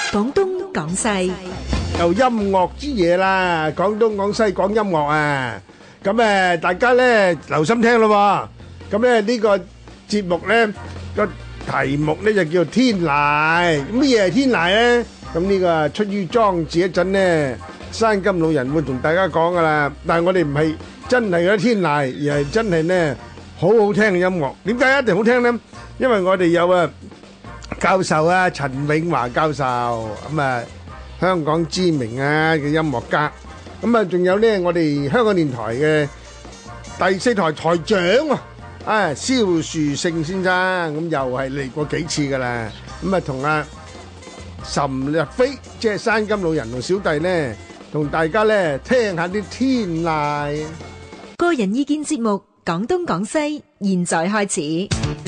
廣東廣西又音樂之夜啦，廣東廣西講音樂啊！咁大家咧留心聽咯喎。咁咧呢個節目咧個題目咧就叫天籟。乜嘢係天籟咧？咁呢個出於莊子一陣咧，山金老人會同大家講噶啦。但係我哋唔係真係嗰啲天籟，而係真係咧好好聽嘅音樂。點解一定好聽咧？因為我哋有教授啊，陳永華教授，咁香港知名嘅音樂家，咁仲有咧我哋香港電台嘅第四台台長蕭樹勝先生，咁又係嚟過幾次噶啦，咁同岑日飛即係山金老人同小弟咧，同大家咧聽下啲天籟。 個人意見節目《廣東廣西》，現在開始。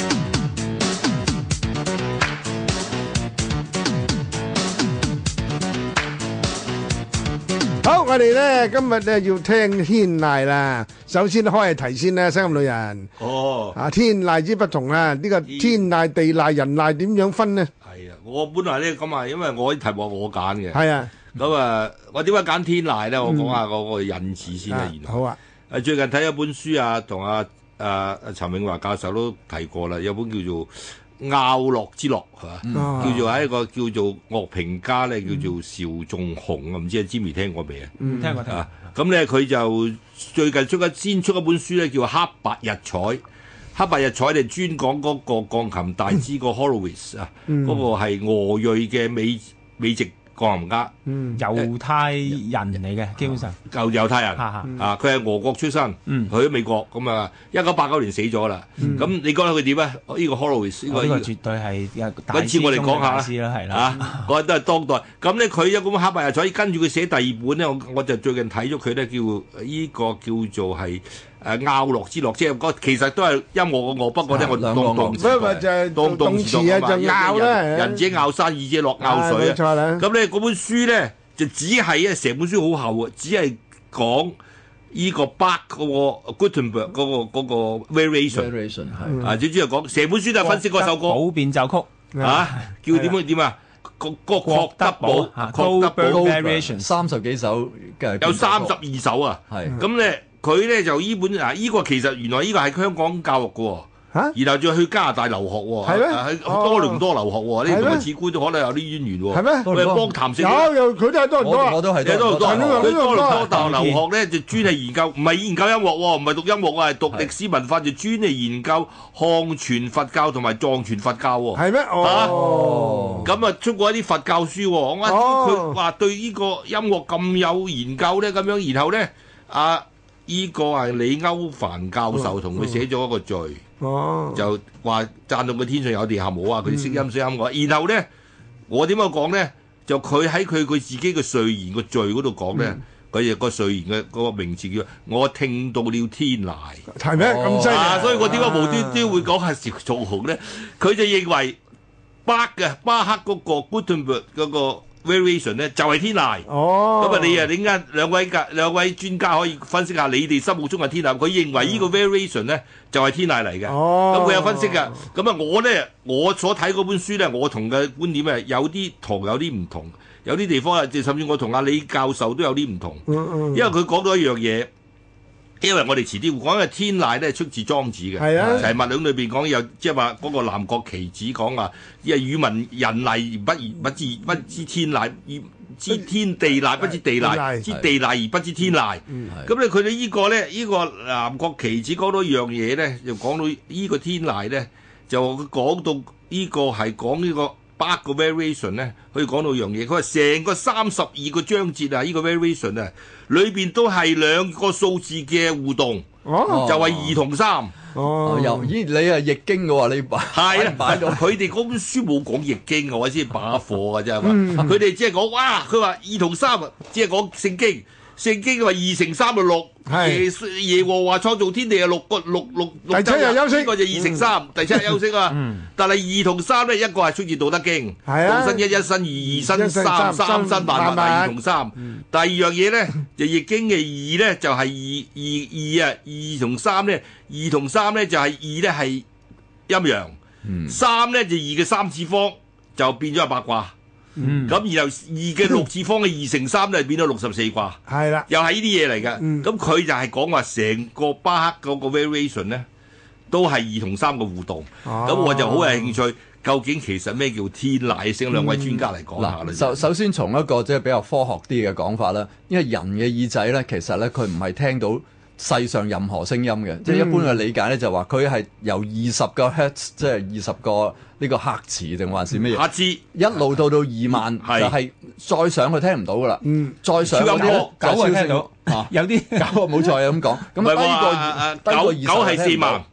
好，我哋咧今日咧要聽天籟啦。首先開題先啦，山金老人。天籟之不同啦，呢個天籟、地籟、人籟點樣分呢？ 係啊，我本來咧咁因為我啲題目我揀嘅。 係啊。 咁我點解揀天籟咧？我講下嗰個引詞先啦。 好啊。 最近睇一本書同陳永華教授都提過啦，有本叫做《拗樂之樂》係嘛，叫做係一個叫做樂評家咧，叫做邵仲雄啊，唔知阿 Jimmy 聽過未啊？ 聽過聽過。 咁咧佢就最近先出一本書咧，叫《黑白日彩》。黑白日彩就專講嗰個鋼琴大師個 Horowitz 啊，嗰個係俄裔嘅美籍鋼琴家， 猶太人嚟嘅，基本上猶太人佢係俄國出身，去咗美國咁1989年死咗啦。咁你覺得佢點啊？呢個 Horowitz 呢個絕對係揾次我哋講下啦，係啦， 嗰都係當代。咁咧佢有咁黑白日彩，跟住佢寫第二本咧，我就最近睇咗佢咧，叫呢個叫做係拗樂之樂，即係其實都係音樂嘅樂，不過咧我當動詞就拗啦， 人者拗山，義者樂拗水啊。咁咧嗰本書咧就只係成本書好厚啊，只係講呢個 Bach 嗰個 Gutenberg 嗰個 variation 係最主要講成本書都係分析嗰首歌寶變奏曲叫點啊？個郭德堡 variation 30幾首嘅， 有32首啊。咁咧佢咧就呢本呢個其實原來呢個係香港教育嘅喎。然後再去加拿大留學喎，喺多倫多留學喎，呢同個次官都可能有啲淵源喎。 係咩？ 喂，幫譚勝有佢都係多倫多， 我都係多倫多。佢多倫多大學留學咧，就專係研究，唔係研究音樂喎，唔係讀音樂啊，係讀歷史文化，就專係研究漢傳佛教同埋藏傳佛教喎。 係咩？ 咁出過一啲佛教書喎。我佢話對呢個音樂咁有研究咧，咁樣，然後咧呢個係李歐梵教授同佢寫咗一個序。就話讚到佢天上有地下冇啊！佢識音識音樂，然後咧，我點樣講咧？就佢喺佢自己嘅序言個序嗰度講咧，佢個序言嘅嗰個名字叫我聽到了天籟， 係咩咁犀利？ 所以我點解無端端會講下邵仲雄咧？佢就認為巴克嗰個 Gutenberg 嗰個 variation 咧就係天籟。咁你點解兩位專家可以分析下你哋心目中嘅天籟？佢認為呢個 variation 咧就係天籟嚟嘅。咁佢有分析㗎。咁我所睇嗰本書咧，我同嘅觀點有啲同有啲唔同，有啲地方甚至我同阿李教授都有啲唔同。因為佢講到一樣嘢。因為我哋遲啲會講嘅天籟咧出自莊子嘅，就係《物論》裏邊講有，即係話嗰個南國棋子講啊，因為語文人籟不知天籟，知天地籟不知地籟，知地籟而不知天籟。咁咧佢哋呢個南國棋子講到一樣嘢咧，就講到呢個天籟咧，就講到呢個係講呢個 Bach 個 variation 咧，可以講到一樣嘢。佢話成個32個章節啊，呢個 variation 啊，裏邊都係兩個數字嘅互動，就係2同3。 你係易經嘅喎，你係啦，佢哋嗰本書冇講易經嘅，我先把課嘅啫嘛。佢哋只係講佢話2同3，只係講聖經。聖經話2乘3就6，耶和華創造天地係6個6 第七日休息， 呢個就2乘3，第7日休息啊。但係2同3咧，一個係出自《道德經》，道生一，一生二，二生三，三生萬物係2同3。第二樣嘢咧，就易經嘅2咧就係2同3咧，2同3咧就係2咧係陰陽，3咧就2嘅3次方就變咗係八卦。 咁然後2嘅6次方嘅2乘3咧變咗64卦， 係啦， 又係呢啲嘢嚟嘅。咁佢就係講話成個巴赫嗰個 variation 咧，都係2同3嘅互動。咁我就好有興趣，究竟其實咩叫天籟？請兩位專家嚟講下啦。 首先從一個即係比較科學啲嘅講法啦，因為人嘅耳仔咧，其實咧佢唔係聽到世上任何聲音嘅，即係一般嘅理解咧就話佢係由20個 hertz， 即係20個呢個赫茲定還是咩嘢？ 赫茲一路到2萬，就係再上去聽唔到噶啦。再上嗰啲咧 9係聽到，有啲 9冇錯係咁講。咁低過20 係4萬，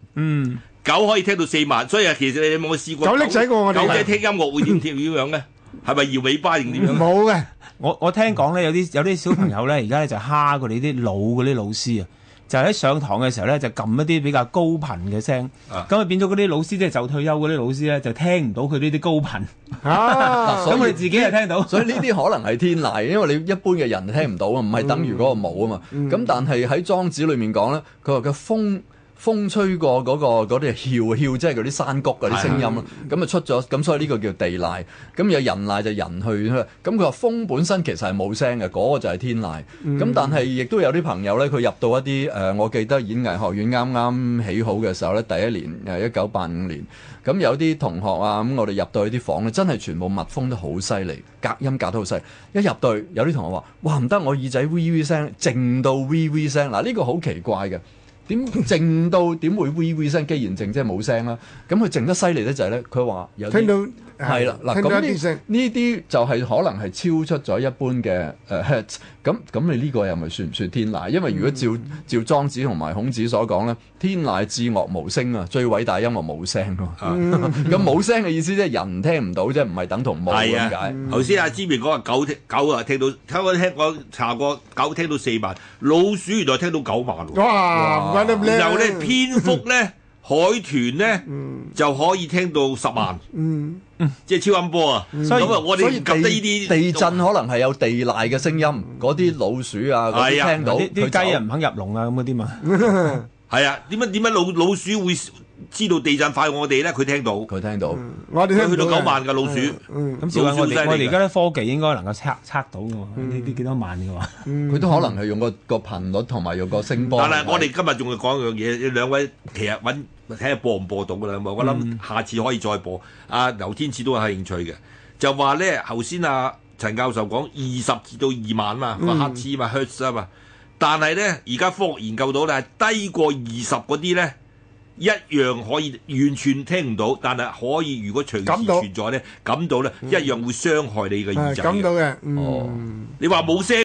9可以聽到4萬，所以其實你有冇試過？ 狗叻仔過我哋。 狗仔聽音樂會點樣咧？係咪搖尾巴定點樣？ 冇嘅。 我聽講咧，有啲小朋友咧，而家咧就蝦過你啲嗰啲老師啊。就喺上堂嘅時候咧，就撳一啲比較高頻嘅聲，咁啊變咗嗰啲老師即係就退休嗰啲老師咧，就聽唔到佢呢啲高頻。咁我哋自己係聽到， 所以呢啲可能係天籟，因為你一般嘅人聽唔到啊，唔係等於嗰個冇啊嘛。咁但係喺莊子裏面講咧，佢話嘅風吹過嗰啲囂，即係嗰啲山谷嗰啲聲音啦，咁啊出咗，咁所以呢個叫地籟。咁有人籟就人去，咁佢話風本身其實係冇聲嘅，嗰個就係天籟。咁但係亦都有啲朋友咧，佢入到一啲我記得演藝學院啱啱起好嘅時候咧，第一年1985年，咁有啲同學啊，咁我哋入到去啲房咧，真係全部密封得好犀利，隔音隔得好犀利。一入到去，有啲同學話：哇唔得，我耳仔 V 聲，靜到 V 聲。嗱呢個好奇怪嘅。點靜到點會 V 聲？既然靜即係冇聲啦。咁佢靜得犀利咧就係咧，佢話有聽到係啦嗱。咁呢啲就係可能係超出咗一般嘅hertz。咁你呢個又咪算唔算天籟？因為如果照莊子同埋孔子所講咧，天籟至樂無聲啊，最偉大音樂冇聲㗎嘛。咁冇聲嘅意思即係人聽唔到，即係唔係等同冇咁解。 頭先阿芝明講話狗啊聽到，我查過狗聽到4萬，老鼠原來聽到9萬喎。 哇！ 然後咧蝙蝠咧、海豚咧就可以聽到10萬。即係超音波啊！咁啊，我哋唔及得呢啲地震可能係有地籟嘅聲音，嗰啲老鼠啊嗰啲聽到， 啲雞啊唔肯入籠啊咁嗰啲嘛。 係啊，點解老鼠會知道地震快過我哋咧？佢聽到， 我哋去到9萬嘅老鼠。 咁照我哋而家啲科技應該能夠測到嘅喎，呢啲幾多萬嘅喎。 佢都可能係用個頻率同埋用個聲波。 但係我哋今日仲要講一樣嘢，兩位其實睇下播唔播到㗎啦。我諗下次可以再播。阿劉天賜都係興趣嘅，就話咧頭先阿陳教授講20至到2萬嘛，個赫茲嘛 hertz 啊嘛。但係咧而家科學研究到咧，低過20嗰啲咧。一樣可以完全聽唔到，但係可以如果隨時存在咧，感到咧一樣會傷害你嘅耳仔嘅。 感到嘅， 你話冇聲。